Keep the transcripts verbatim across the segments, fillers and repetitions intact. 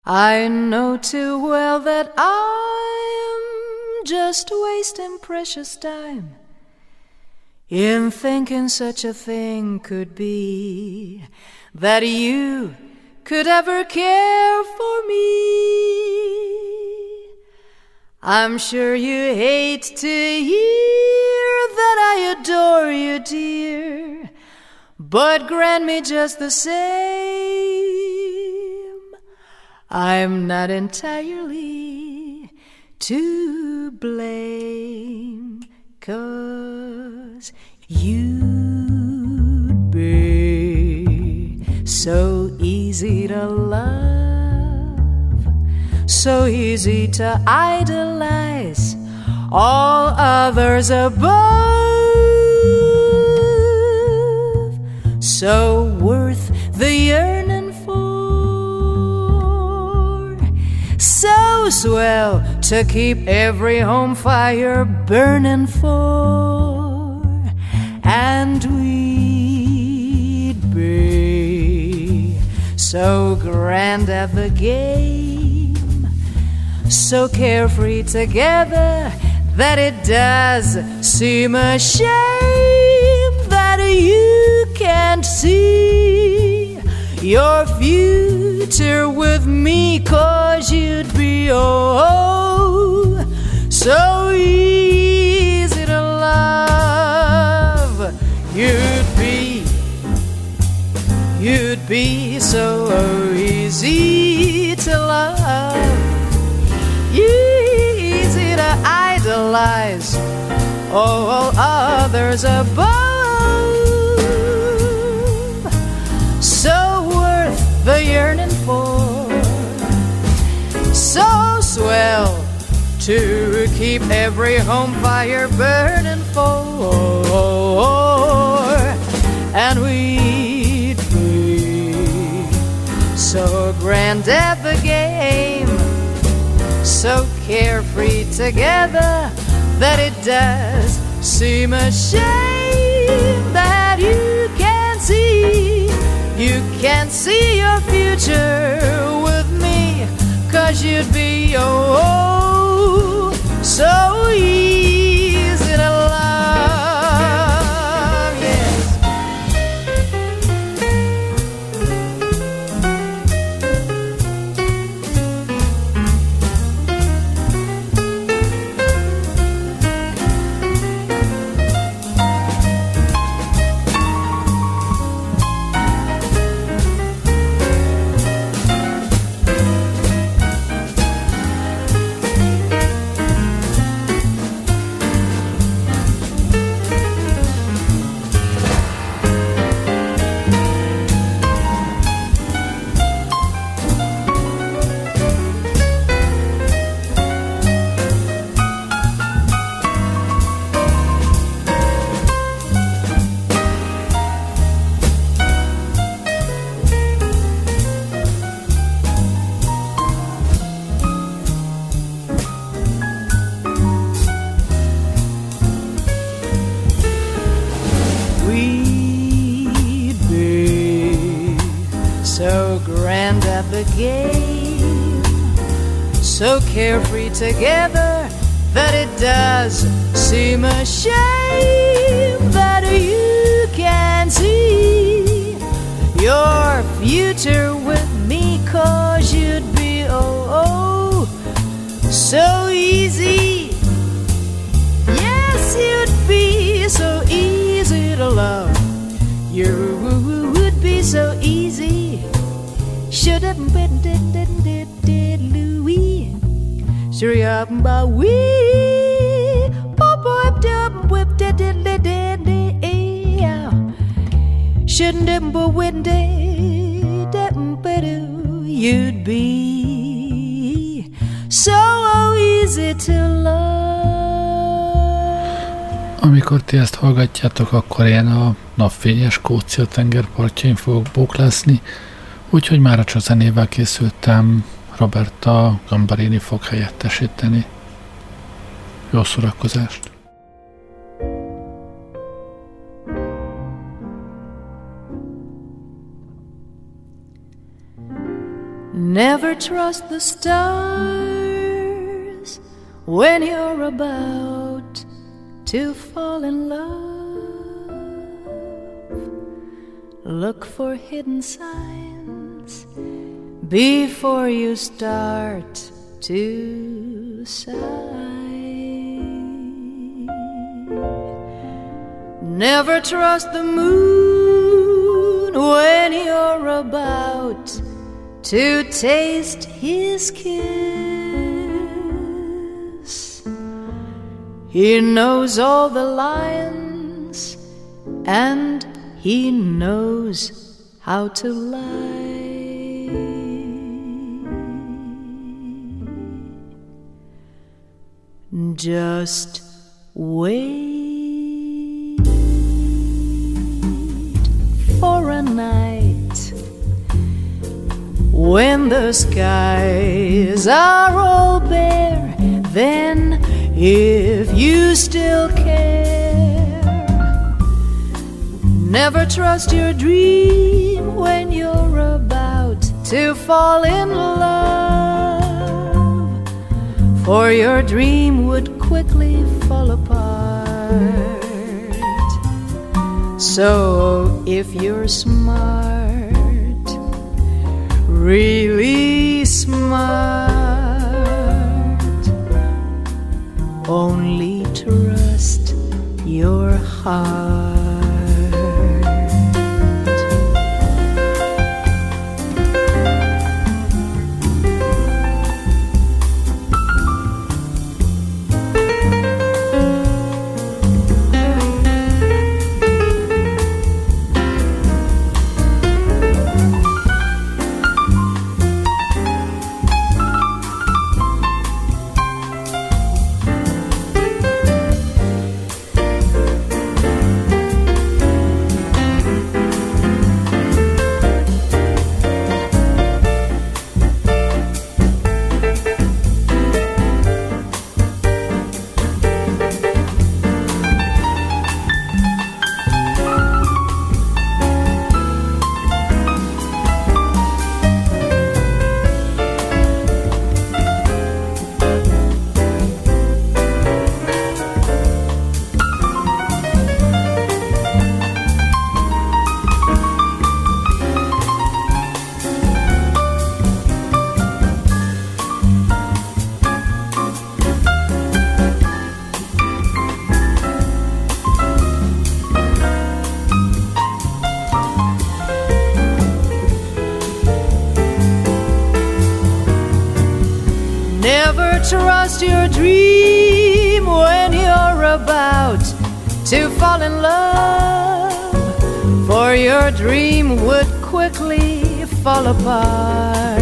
I know too well that I'm just wasting precious time in thinking such a thing could be, that you could ever care for me. I'm sure you hate to hear that I adore you, dear, but grant me just the same, I'm not entirely to blame, 'cause you'd be so easy to love, so easy to idolize, all others above, so worth the yearning for, so swell to keep every home fire burning for, and we'd be so grand at the game, so carefree together that it does seem a shame that you can't see your future with me, 'cause you'd be oh so easy to love. You'd be, you'd be so easy to love, easy to idolize, all others above, so worth the yearning for, so swell to keep every home fire burning for, and we'd be so grand at the game, so carefree together that it does seem a shame that you can't see, you can't see your future with me, 'cause you'd be oh so easy to love, yes. So carefree together that it does seem a shame that you can't see your future with me, 'cause you'd be oh oh so easy, yes you'd be so easy to love, you would be so easy, should have been did did did did Louis. Sure up by we pop whip up whip did did did did shouldn't have but when did better you'd be so easy to love. Amikor ti ezt hallgatjátok, akkor én a napfényes Skócia tengerpartjain fogok bóklászni, úgyhogy már a zenével készültem, Roberta Gambarini fog helyettesíteni. Jó szórakozást! Never trust the stars when you're about to fall in love. Look for hidden signs before you start to sigh. Never trust the moon when you're about to taste his kiss. He knows all the lines and he knows how to lie. Just wait for a night when the skies are all bare. Then, if you still care, never trust your dream when you're about to fall in love, for your dream would quickly fall apart. So if you're smart, really smart, only trust your heart. Trust your dream when you're about to fall in love, for your dream would quickly fall apart.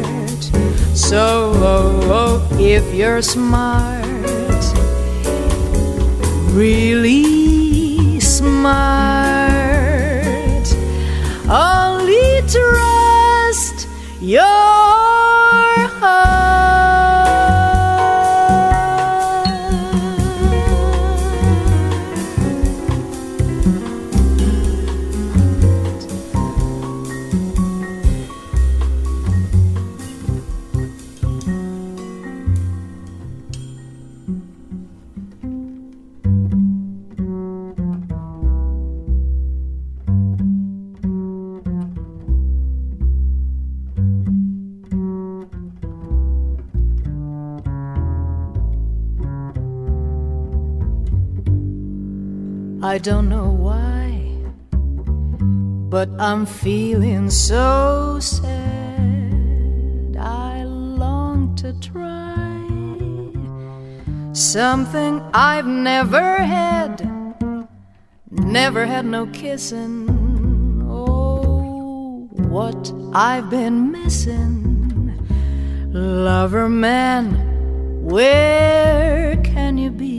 So oh, oh, if you're smart, really smart, only trust your heart. I don't know why, but I'm feeling so sad. I long to try something I've never had. Never had no kissing. Oh, what I've been missing. Lover man, where can you be?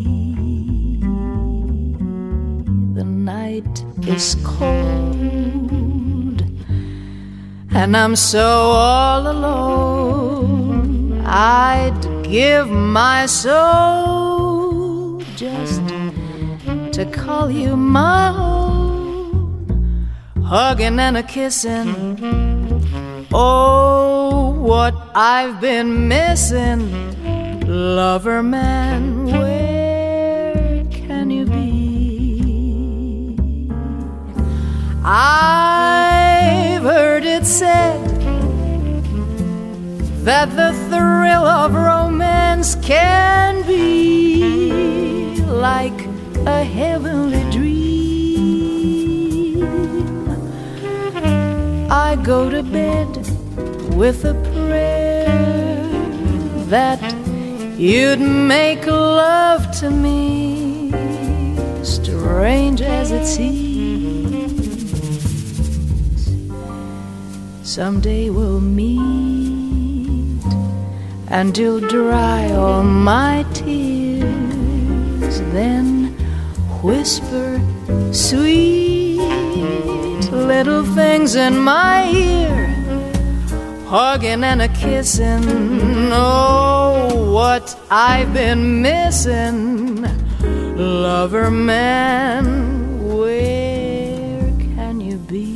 The night is cold and I'm so all alone. I'd give my soul just to call you my own, hugging and a kissing Oh, what I've been missing, lover man, where can you be? I've heard it said that the thrill of romance can be like a heavenly dream. I go to bed with a prayer that you'd make love to me, strange as it seems. Someday we'll meet, and you'll dry all my tears, then whisper sweet little things in my ear, hugging and a kissing. Oh, what I've been missing, lover man, where can you be?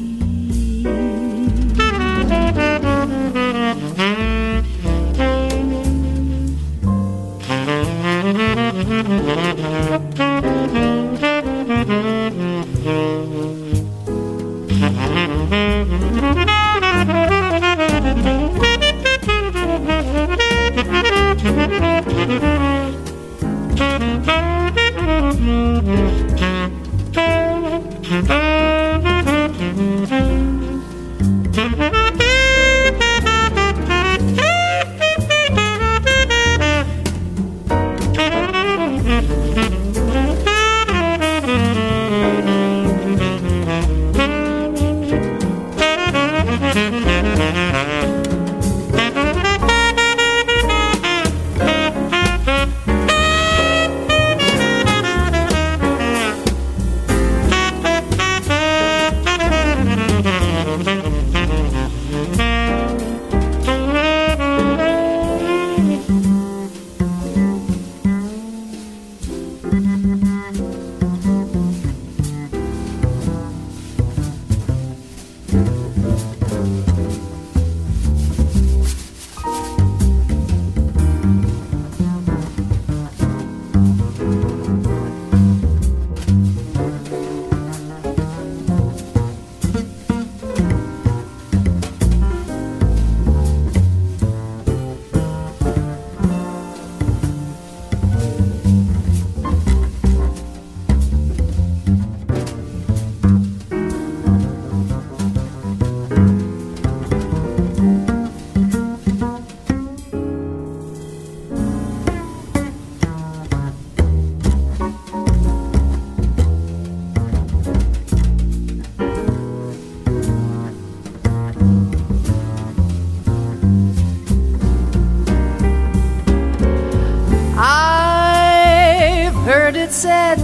Said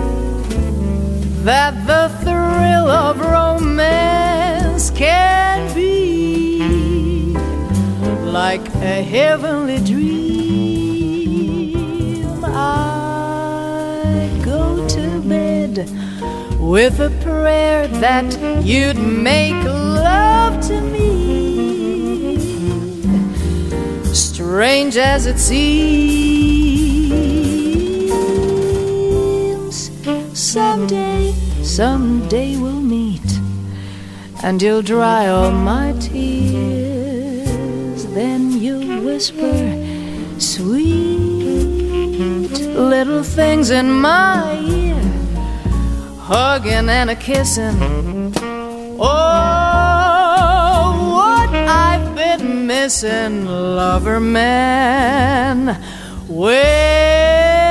that the thrill of romance can be like a heavenly dream. I go to bed with a prayer that you'd make love to me, strange as it seems. Someday, someday we'll meet, and you'll dry all my tears. Then you'll whisper sweet little things in my ear, hugging and a kissing. Oh, what I've been missing, lover man, where,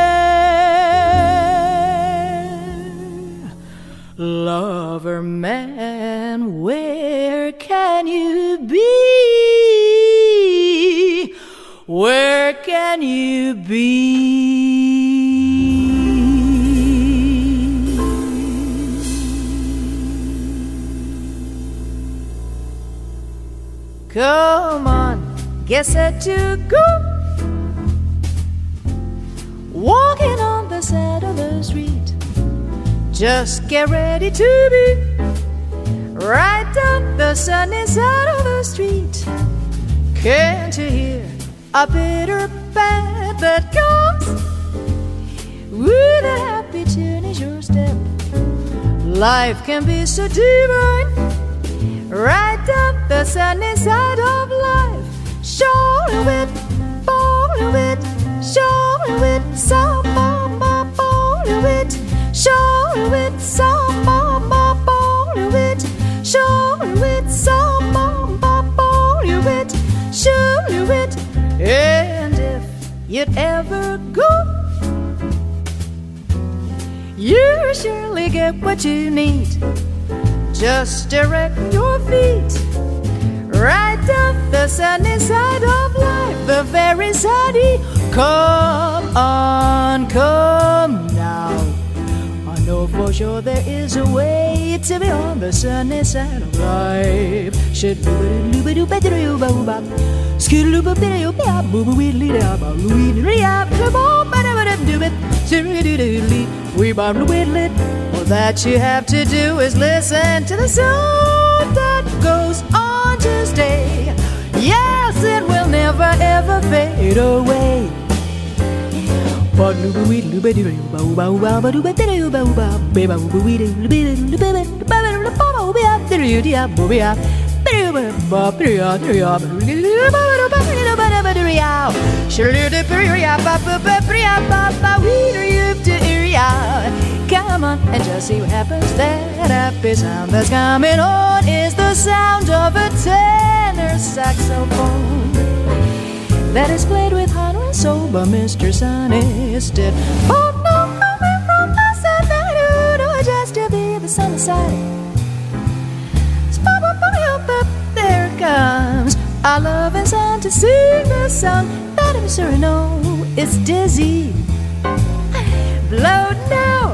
lover man, where can you be? Where can you be? Come on, get set to go. Walking on the side of the street, just get ready to be right down the sunny side of the street. Can't you hear a bitter band that comes with a happy tune is your step? Life can be so divine, right down the sunny side of life. Show it, follow it, show it, some mama, follow it, show it, some mama, follow it, show it, some mama, follow it, show it. And if you'd ever go, you surely get what you need. Just direct your feet right down the sunny side of life, the very sunny. Come on, come now. I know for sure there is a way to be on the sunny side of life. All that you have to do is listen to the song that goes on to stay. Yes, it will never ever fade away. Come on and just see what happens. That happy sound that's coming on is the sound of a tenor saxophone that is played with heart and soul by Mister Sonny Stitt. Oh no, coming from the side, no, just to be the sunny side. There it comes our loving son to sing the song that I'm sure I know it's dizzy. Blow now.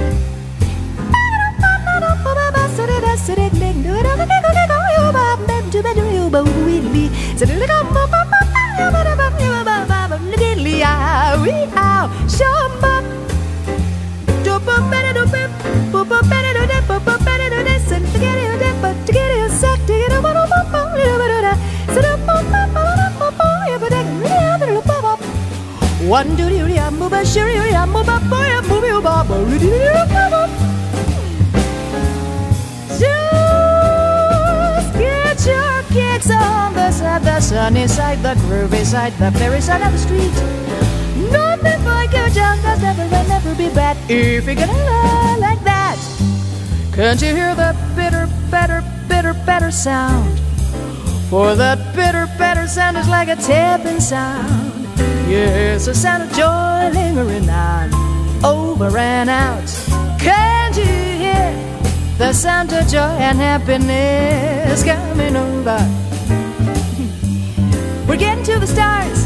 One do you move a sure you move a boy a movie about just get your kicks on the side, the sunny side, the groovy side, the fairy side of the street. Nothing like your junk does never and never be bad if you're gonna lie like that. Can't you hear the bitter, better, bitter, better sound? For that bitter, better sound is like a tapping sound. Yes, a sound of joy lingering on, over and out. Can't you hear the sound of joy and happiness coming over? We're getting to the stars.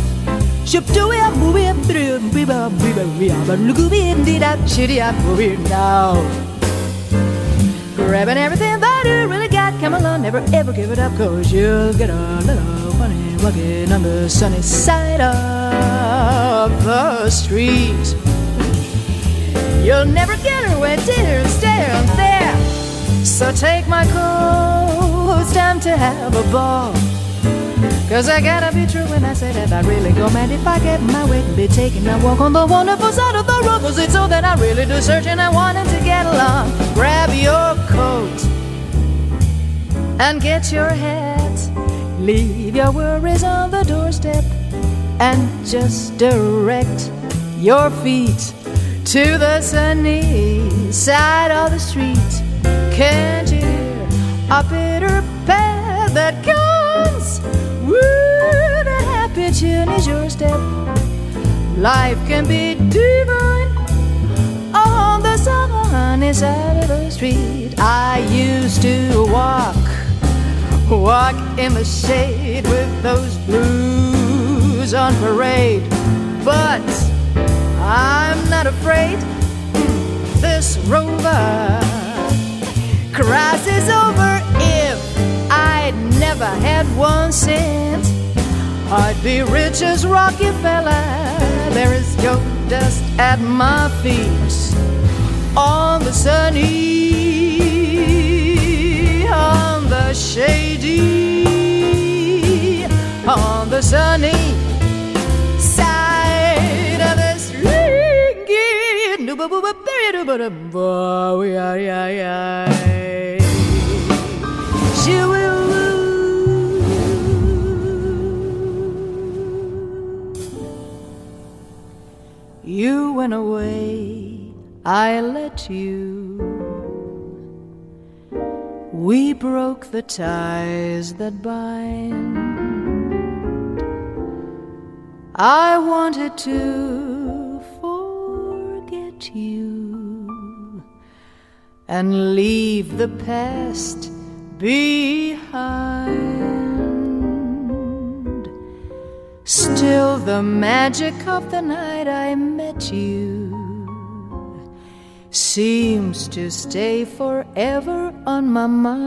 Grabbing everything that you really got. Come along, never ever give it up, cause you'll get a little funny walking on the sunny side of the street. You'll never get her when dinner stay on there. So take my coat, it's time to have a ball. Cause I gotta be true when I say that I really go mad if I get my way and be taking a walk on the wonderful side of the road. Cause it's all that I really do search and I wanted to get along. Grab your coat and get your hat. Leave your worries on the doorstep and just direct your feet to the sunny side of the street. Can't you hear a bitter path that comes with a happy tune is your step? Life can be divine on the sunny side of the street. I used to walk, walk in the shade with those blues on parade, but I'm not afraid. This rover crosses over. If I'd never had one cent, I'd be rich as Rockefeller. There is gold dust at my feet on the sunny shady on the sunny side of the street. You went away, I let you. We broke the ties that bind. I wanted to forget you and leave the past behind. Still the magic of the night I met you seems to stay forever on my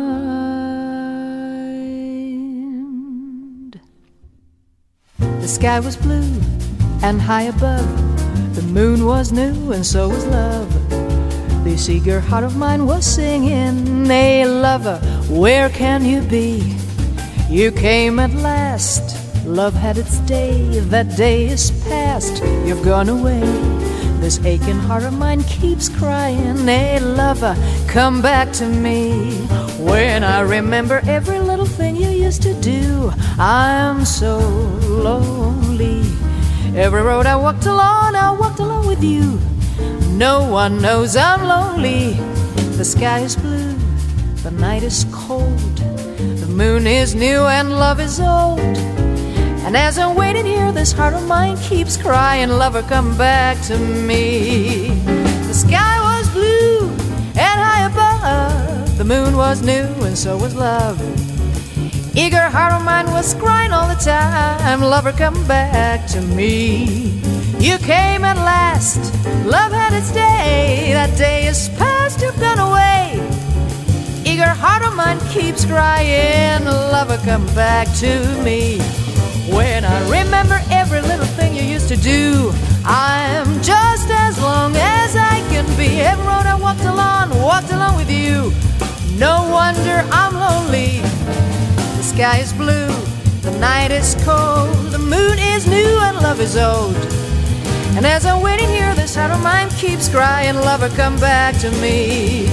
mind. The sky was blue and high above, the moon was new and so was love. This eager heart of mine was singing, hey lover, where can you be? You came at last, love had its day, that day is past, you've gone away. This aching heart of mine keeps crying, hey lover, come back to me. When I remember every little thing you used to do, I'm so lonely. Every road I walked along, I walked along with you. No one knows I'm lonely. The sky is blue, the night is cold, the moon is new and love is old. And as I'm waiting here, this heart of mine keeps crying, lover, come back to me. The sky was blue and high above, the moon was new and so was love. Eager heart of mine was crying all the time, lover, come back to me. You came at last, love had its day, that day is past, you've gone away. Eager heart of mine keeps crying, lover, come back to me. When I remember every little thing you used to do, I'm just as long as I can be. Every road I walked along, walked along with you. No wonder I'm lonely. The sky is blue, the night is cold, the moon is new and love is old. And as I'm waiting here, this heart of mine keeps crying, lover, come back to me.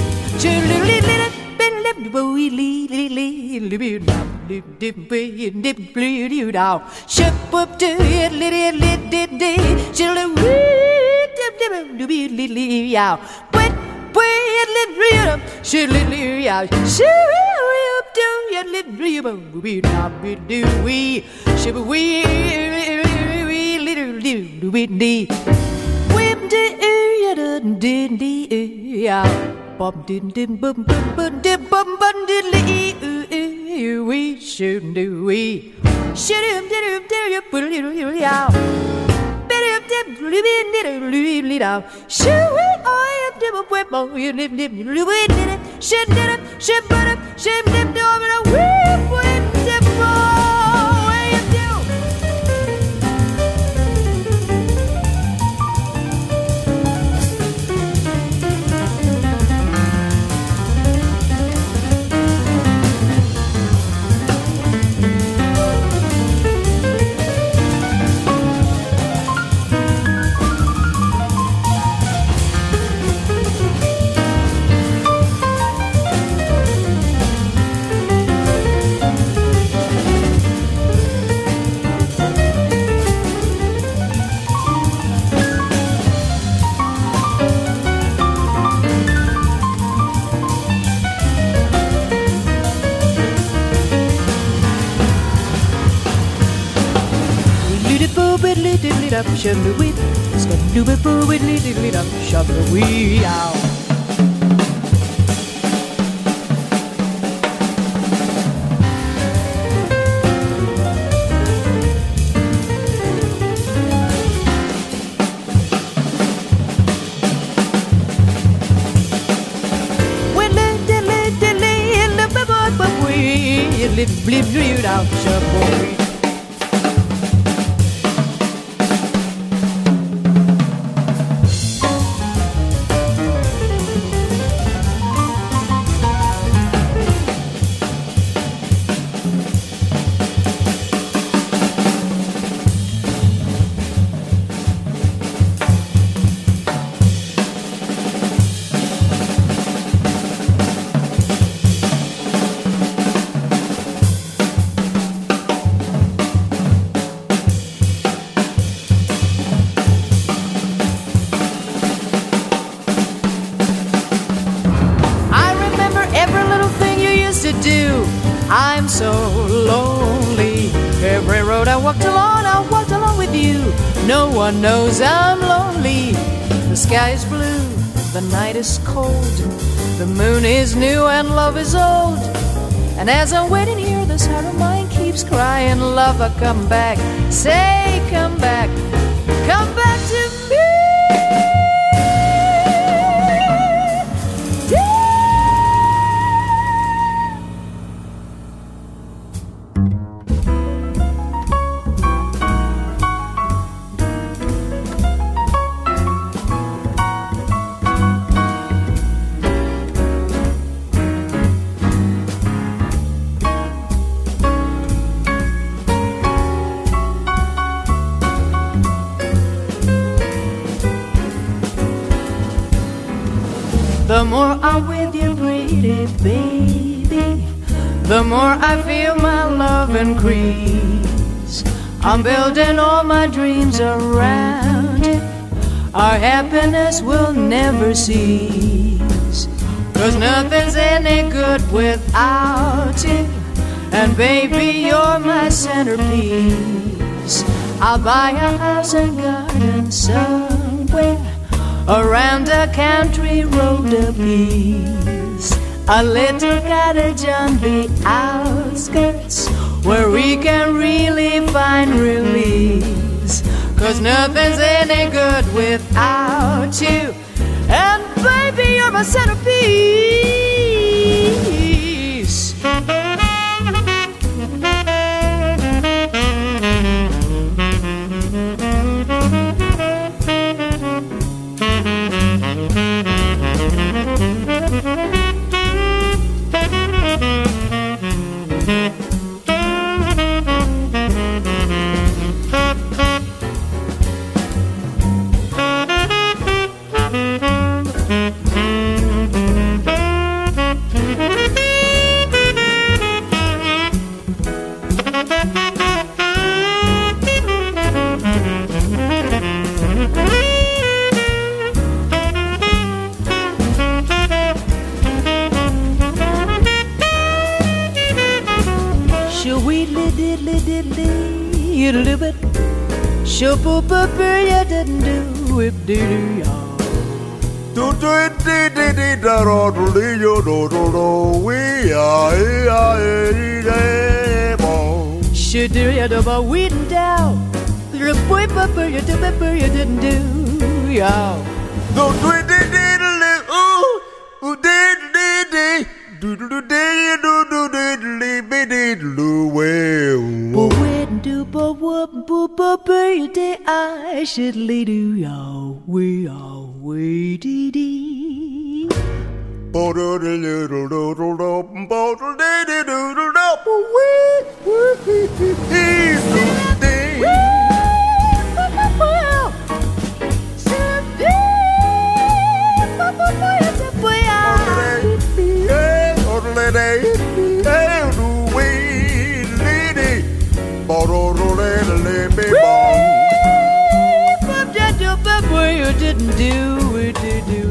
Bum did dim bum bum bum dim bum bum diddly oo we should do we should him did him did you put a little little out bit him did living little little out should we I am dim up with mo you live live you live it did it should did it should put it should dim over the whip with dim where you do. Shabba wee, shabba wee, boo wee, little wee, shabba wee, ow. When little little little bubba wee, little bleep bleep out, shabba wee. you. No one knows I'm lonely. The sky is blue, the night is cold, the moon is new and love is old. And as I'm waiting here, this heart of mine keeps crying, lover, come back, say come back, come back to me. The more I'm with you, pretty baby, the more I feel my love increase. I'm building all my dreams around you. Our happiness will never cease. 'Cause nothing's any good without you. And baby, you're my centerpiece. I'll buy a house and garden somewhere around a country road a piece, a little cottage on the outskirts where we can really find release. 'Cause nothing's any good without you. And baby, you're my centerpiece. Show poopa you didn't do it, did you? Do do it, did it, did da do do do do do do we are here, boy. Should do ya do ba we down? The boy papa you do it, you didn't do, y'all. Do do it, did it, ooh, ooh, did did did do do do did do do did did did do well. But when do but what but but baby I should lead you y'all we are we dee dee. Bottle the little little little bottle the little little we we he's the day. You didn't do it, did you?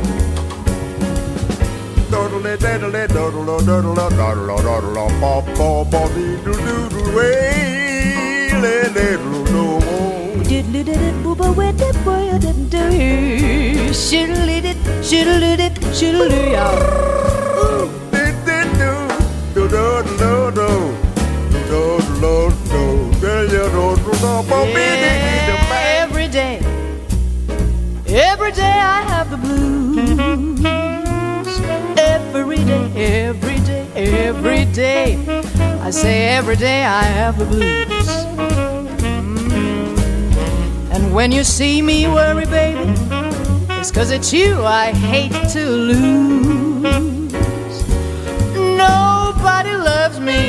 Doodle doodle doodle doodle doodle doodle doodle pop pop pop doodle doodle way little no diddle did booba with the boy you didn't do it. Shiddle it, shiddle it, shiddle it, y'all. Did did do do do do do do do do do. Every day. Every day I have the blues. Every day, every day, every day. I say every day I have the blues. Mm. And when you see me worry, baby, it's 'cause it's you I hate to lose. Nobody loves me.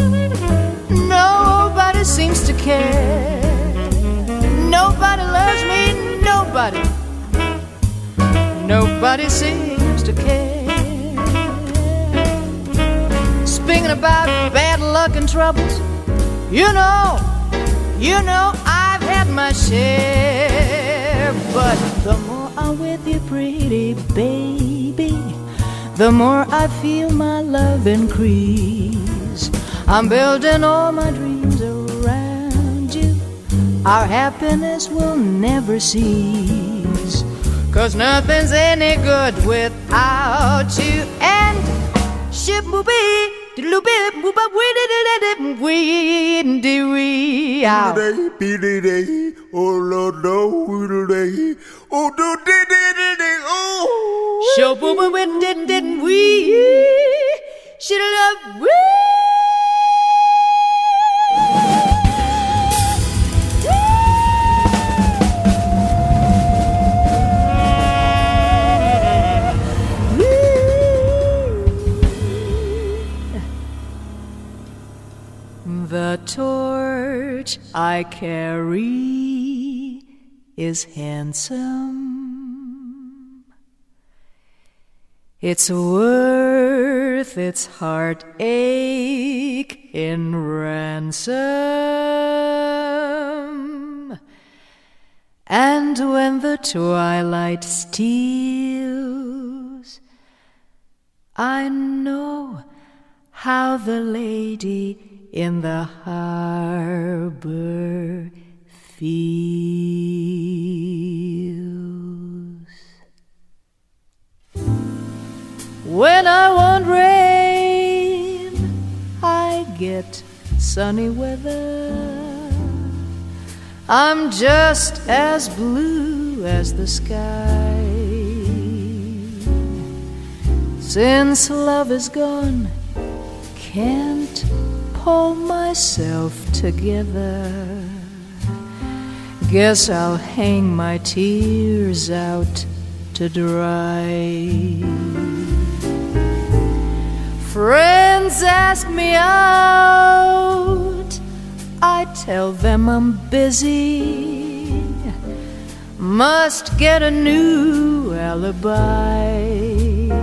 Nobody seems to care. Nobody loves me. Nobody. Nobody seems to care. Speaking about bad luck and troubles, you know, you know I've had my share. But the more I'm with you, pretty baby, the more I feel my love increase. I'm building all my dreams around you. our happiness will never cease. 'Cause nothing's any good without you. And ship will be loopy, whoop up, we did it, we did we out. Oh, Lord, no, we oh, do did it, oh. Show boo boo, we did, didn't we? Should love we. The torch I carry is handsome. It's worth its heartache in ransom. And when the twilight steals, I know how the lady in the harbor feels. When I want rain, I get sunny weather. I'm just as blue as the sky. Since love is gone, can't pull myself together. Guess I'll hang my tears out to dry. Friends ask me out, I tell them I'm busy. Must get a new alibi.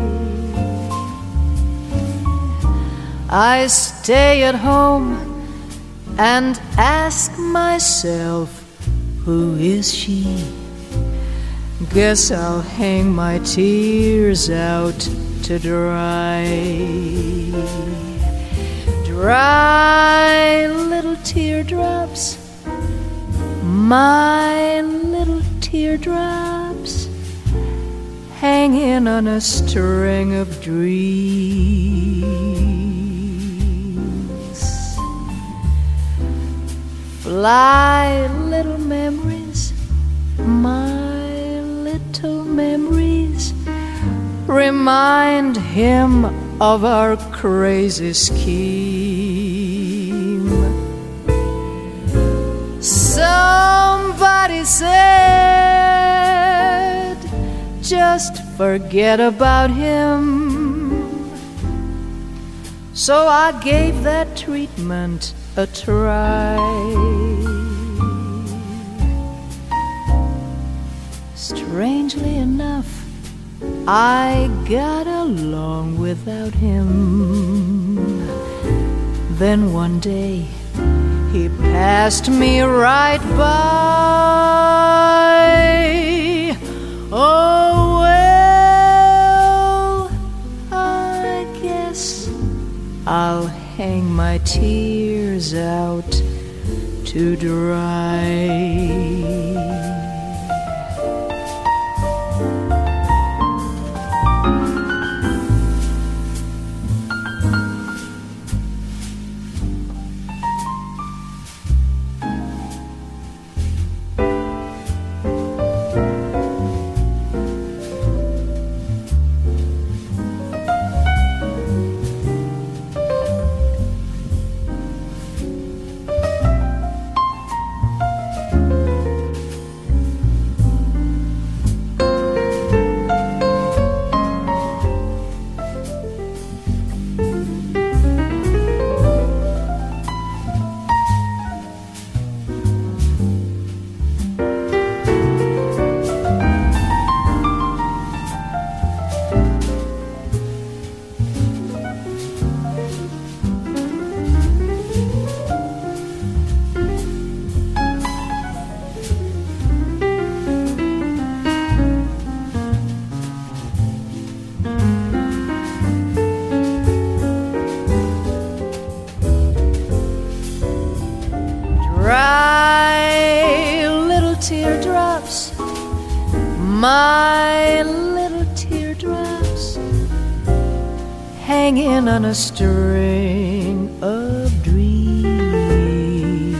I stay at home and ask myself, who is she? Guess I'll hang my tears out to dry. Dry little teardrops, my little teardrops, hanging on a string of dreams. Fly, little memories, my little memories, remind him of our crazy scheme. Somebody said, just forget about him. So I gave that treatment a try. Strangely enough, I got along without him. Then one day he passed me right by. Oh well, I guess I'll hang my tears out to dry. Dry teardrops, my little teardrops, hanging on a string of dreams.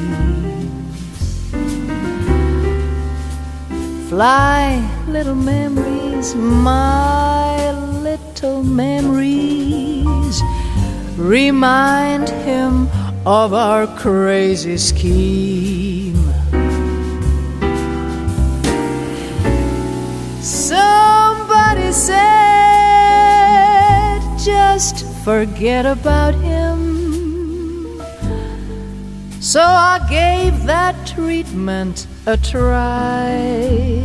Fly, little memories, my little memories, remind him of our crazy scheme. Somebody said, just forget about him. So I gave that treatment a try.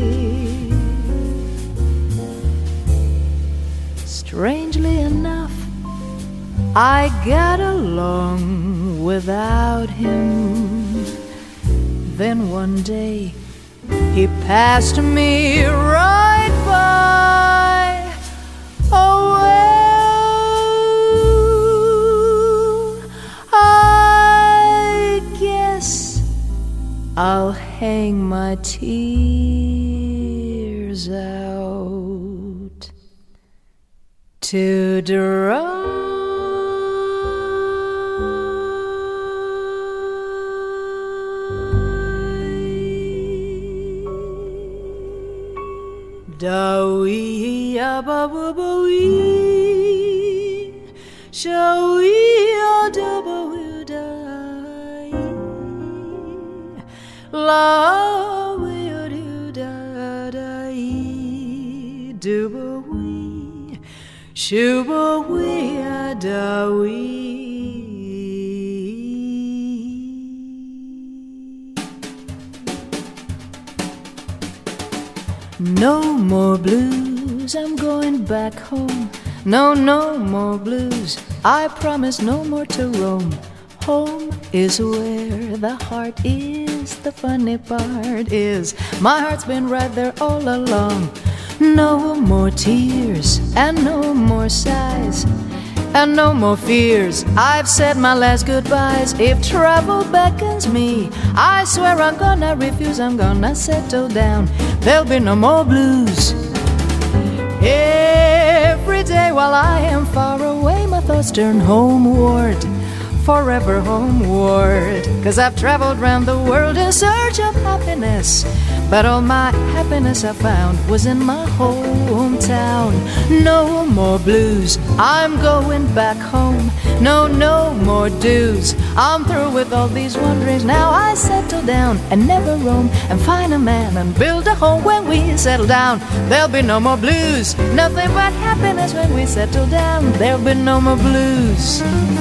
Strangely enough, I got along without him. Then one day he passed me right by. Oh well, I guess I'll hang my tears out to dry. Da-wee, ah-ba-ba-ba-wee, sha-wee, ah-da-ba-wee-da-wee, la-wee-a-doo-da-da-wee, do-ba-wee, shoo-ba-wee, ah-da-wee. No more blues, I'm going back home. No, no more blues, I promise no more to roam. Home is where the heart is. The funny part is my heart's been right there all along. No more tears and no more sighs and no more fears. I've said my last goodbyes. If trouble beckons me, I swear I'm gonna refuse. I'm gonna settle down. There'll be no more blues. Every day while I am far away, my thoughts turn homeward, forever homeward. 'Cause I've traveled round the world in search of happiness, but all my happiness I found was in my hometown. No more blues, I'm going back home. No, no more dues, I'm through with all these wanderings. Now I settle down and never roam, and find a man and build a home. When we settle down, there'll be no more blues. Nothing but happiness when we settle down. There'll be no more blues.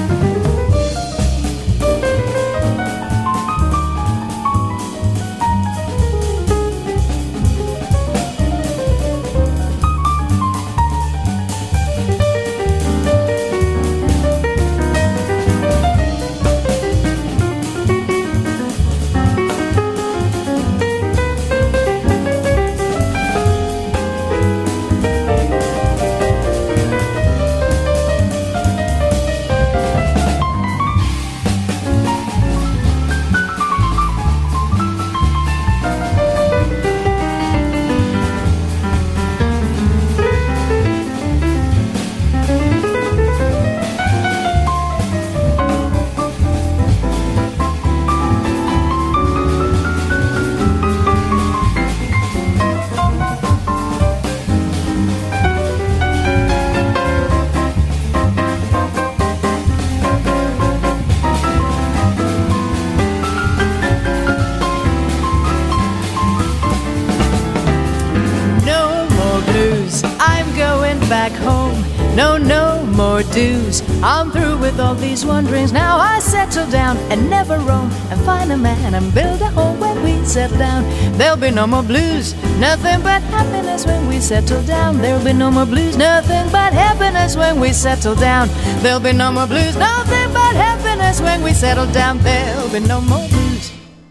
Back home, no, no more dues. I'm through with all these wanderings. Now I settle down and never roam, and find a man and build a home. When we settle down, there'll be no more blues. Nothing but happiness when we settle down. There'll be no more blues. Nothing but happiness when we settle down. There'll be no more blues. Nothing but happiness when we settle down. There'll be no more blues.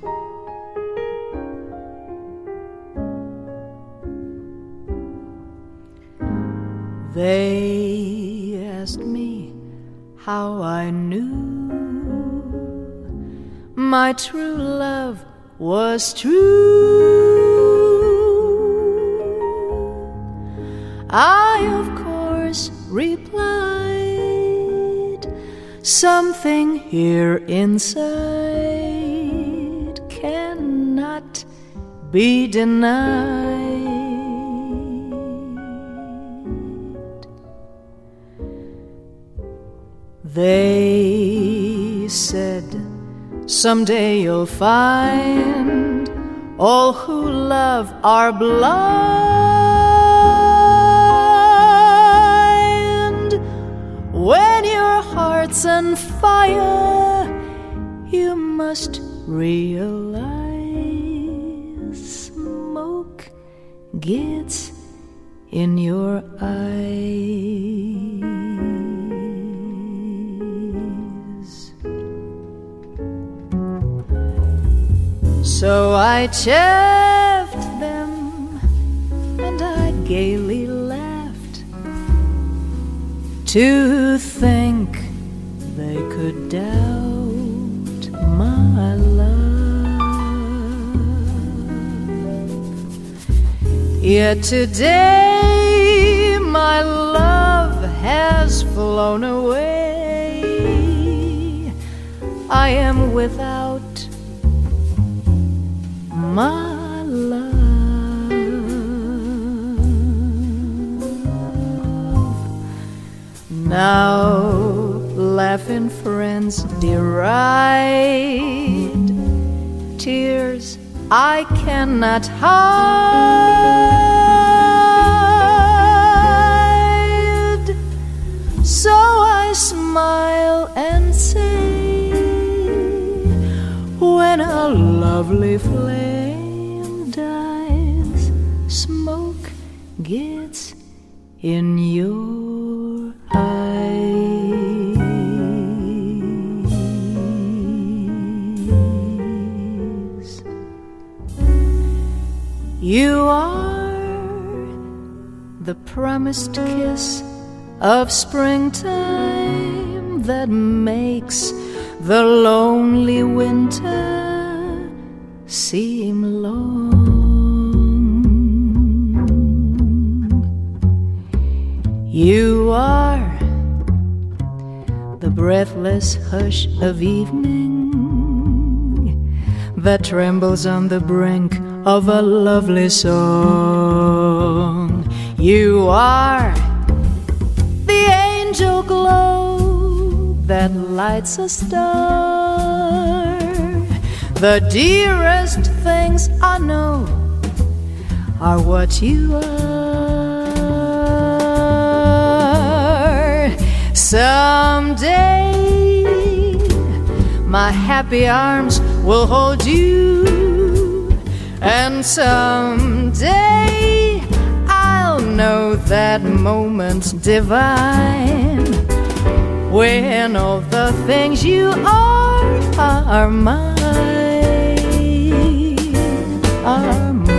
They asked me how I knew my true love was true. I, of course, replied, something here inside cannot be denied. They said, someday you'll find all who love are blind. When your heart's on fire, you must realize smoke gets in your eyes. So I chaffed them and I gaily laughed to think they could doubt my love. Yet today my love has flown away. I am without my love. Now laughing friends deride tears I cannot hide. So I smile and say, when a lovely flame dies, smoke gets in your eyes. You are the promised kiss of springtime that makes the lonely winter seem long. You are the breathless hush of evening that trembles on the brink of a lovely song. You are the angel glow that lights a star. The dearest things I know are what you are. Someday my happy arms will hold you, and someday I'll know that moment's divine, when all the things you are are mine, are mine.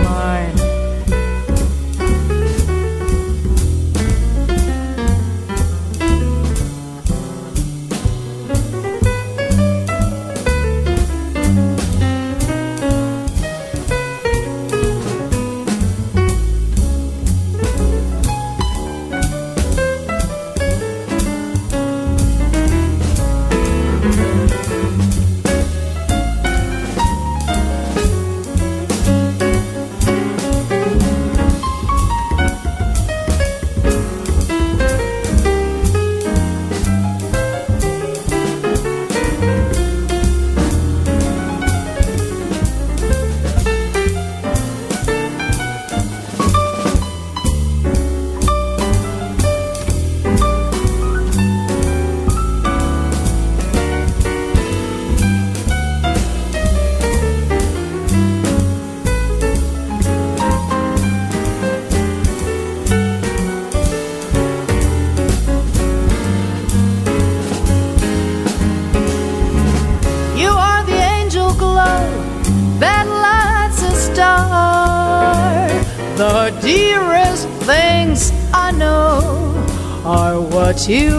The dearest things I know are what you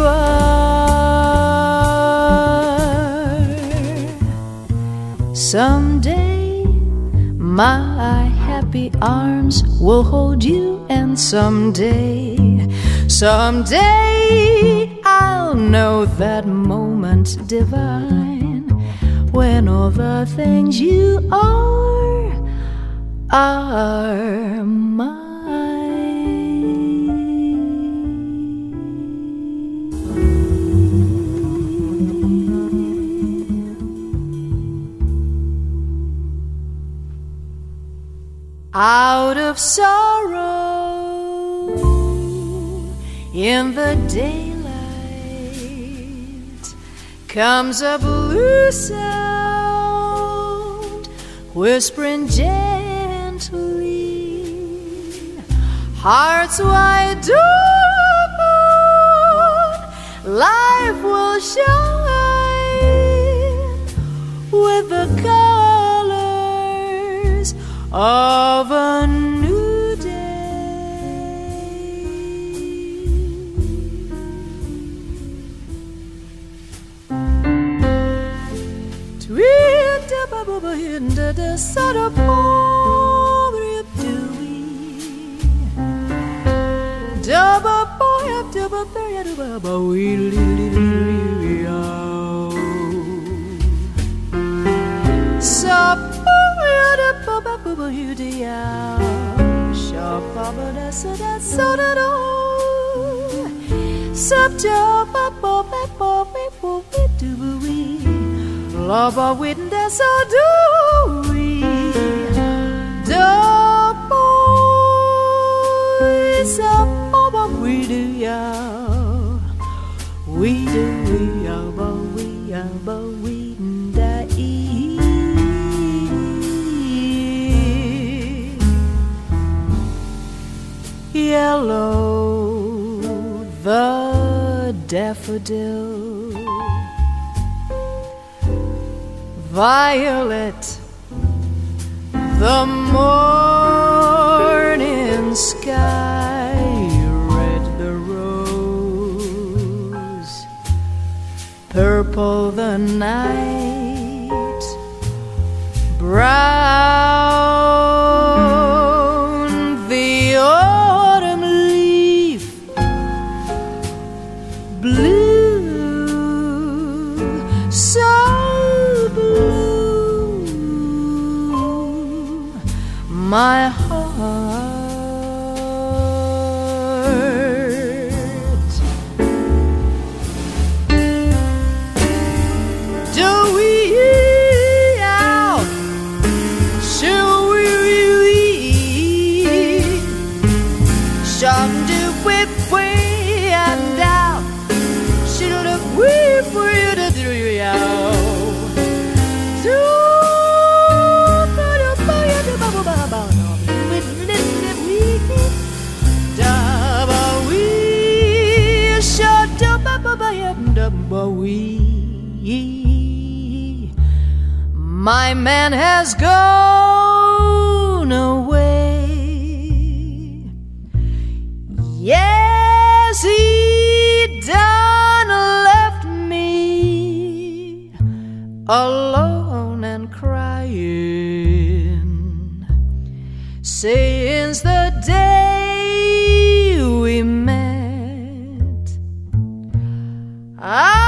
are. Someday my happy arms will hold you, and someday, someday I'll know that moment divine when all the things you are are mine. Out of sorrow in the daylight comes a blue sound, whispering gently, hearts wide open, life will shine with the colors of a new day. Tweet up above into the sun of poverty, double boy up double berry, double wee. So you the out, sharp bubble, that's a that's so that all. Subjob, bubble, bubble, bubble, do we? Love a witness, that's all do we? The boys up, bubble, we do ya. We do, we are, but we are, but we die. Yellow, the daffodil, violet, the morning sky, red the rose, purple the night, brown the autumn leaf, blue, so blue, my heart. Do we out? Should we? Shall do whip way and out? Should have whip way to do you out? My man has gone away. Yes, he done left me alone and crying since the day we met. I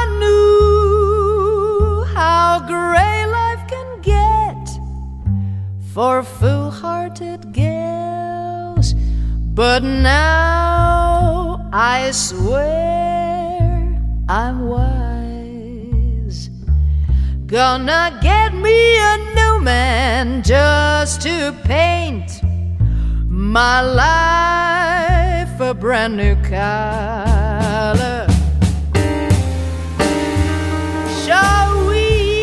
for fool-hearted gals, but now I swear I'm wise. Gonna get me a new man just to paint my life a brand new color. Shall we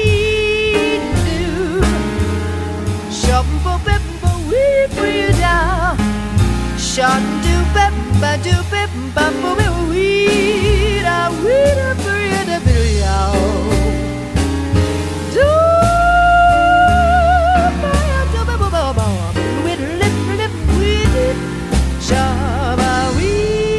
shot do bep ba do bep ba bo be we da we da be da be ya do ba do ba ba ba we lip lip we shaba we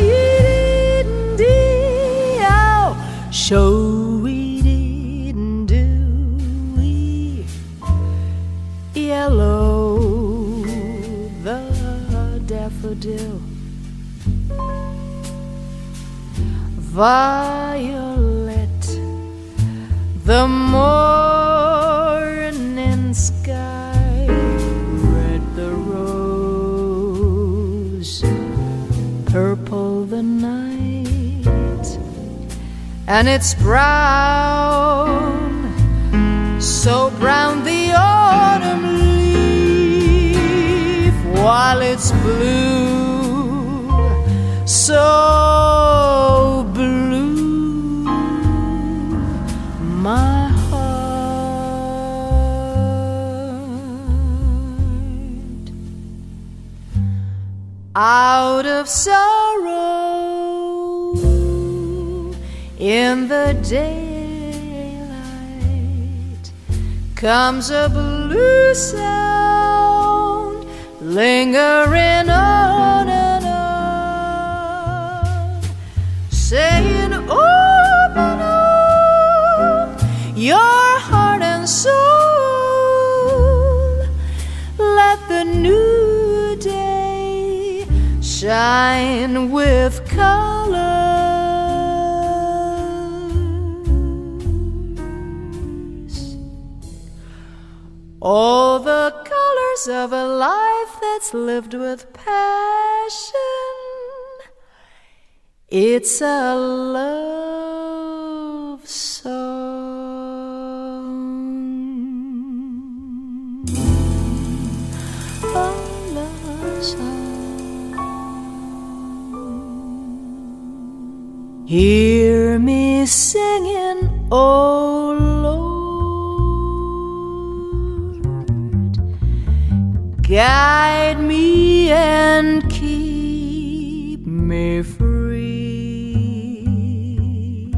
did out show we didn't do we yellow daffodil, violet, the morning sky, red the rose, purple the night, and it's brown, so brown the autumn leaf, while it's blue, so blue, my heart. Out of sorrow in the daylight comes a blue sound, lingering on and on, saying, open up your heart and soul, let the new day shine with colors. All the colors of a life that's lived with passion. It's a love song, a love song. Hear me singing, oh Lord, guide me and keep me free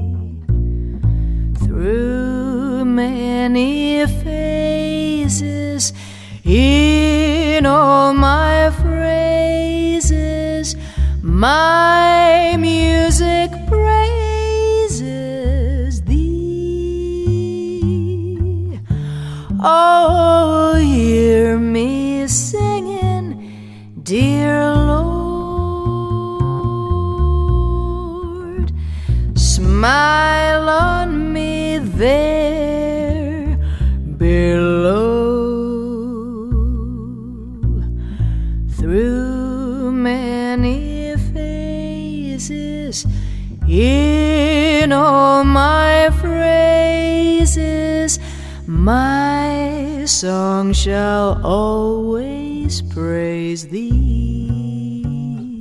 through many phases in all my phrases. My music praises thee. Oh, hear me singing, dear Lord, smile on me there below. Through many phases in all my phrases, my song shall always praise thee.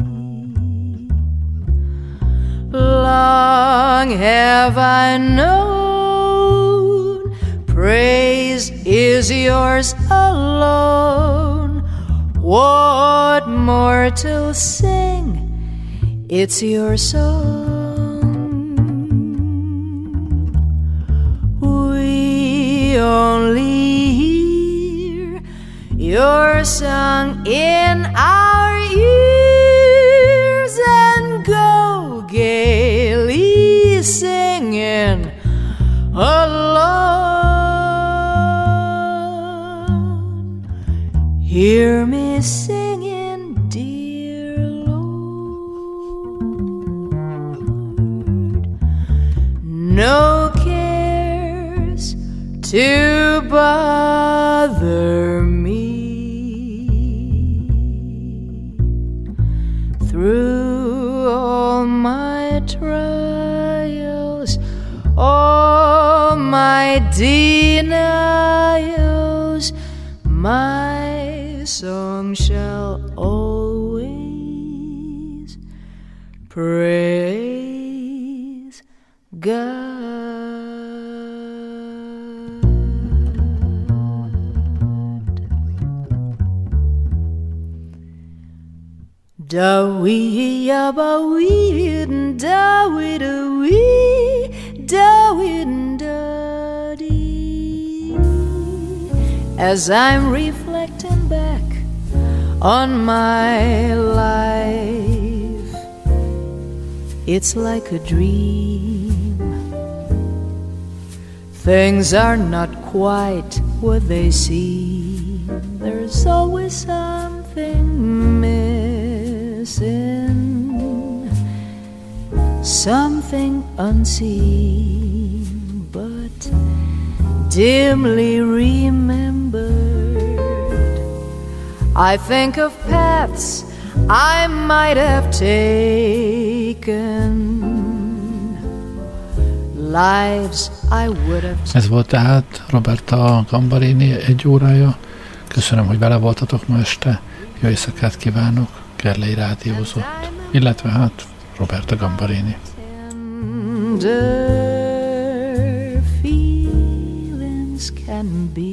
Long have I known praise is yours alone. What more to sing? It's your song. We only hear your song in our ears and go gaily singing alone. Hear me singing, dear Lord, no cares to bother me. Through all my trials, all my denials, my song shall always praise God. Da wee ya ba wee da wee da wee da wee da dee. As I'm reflecting back on my life, it's like a dream. Things are not quite what they seem. There's always something missing. missing something unseen but dimly remembered. I think of paths I might have taken, lives I would have taken. Ez volt tehát Roberta Gambarini egy órája. Köszönöm, hogy vele voltatok ma este. Jó éjszakát kívánok, Gerlei rádiózott, illetve hát Roberta Gambarini. Tender feelings can be.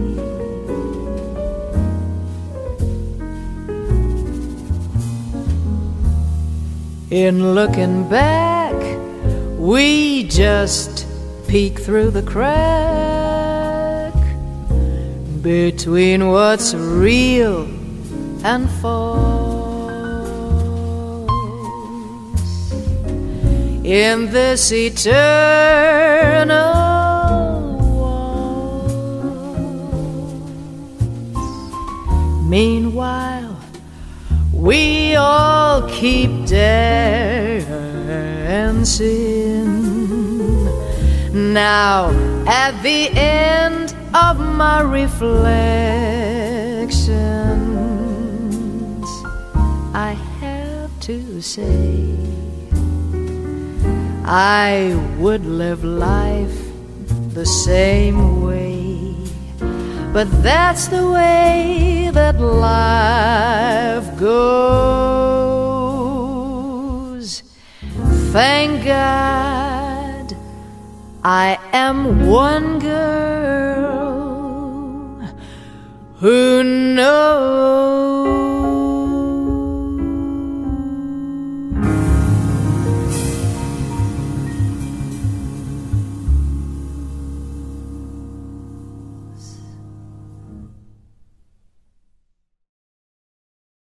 In looking back, we just peek through the crack between what's real and false in this eternal waltz. Meanwhile, we all keep dancing. Now, at the end of my reflections, I have to say I would live life the same way, but that's the way that life goes. Thank God I am one girl who knows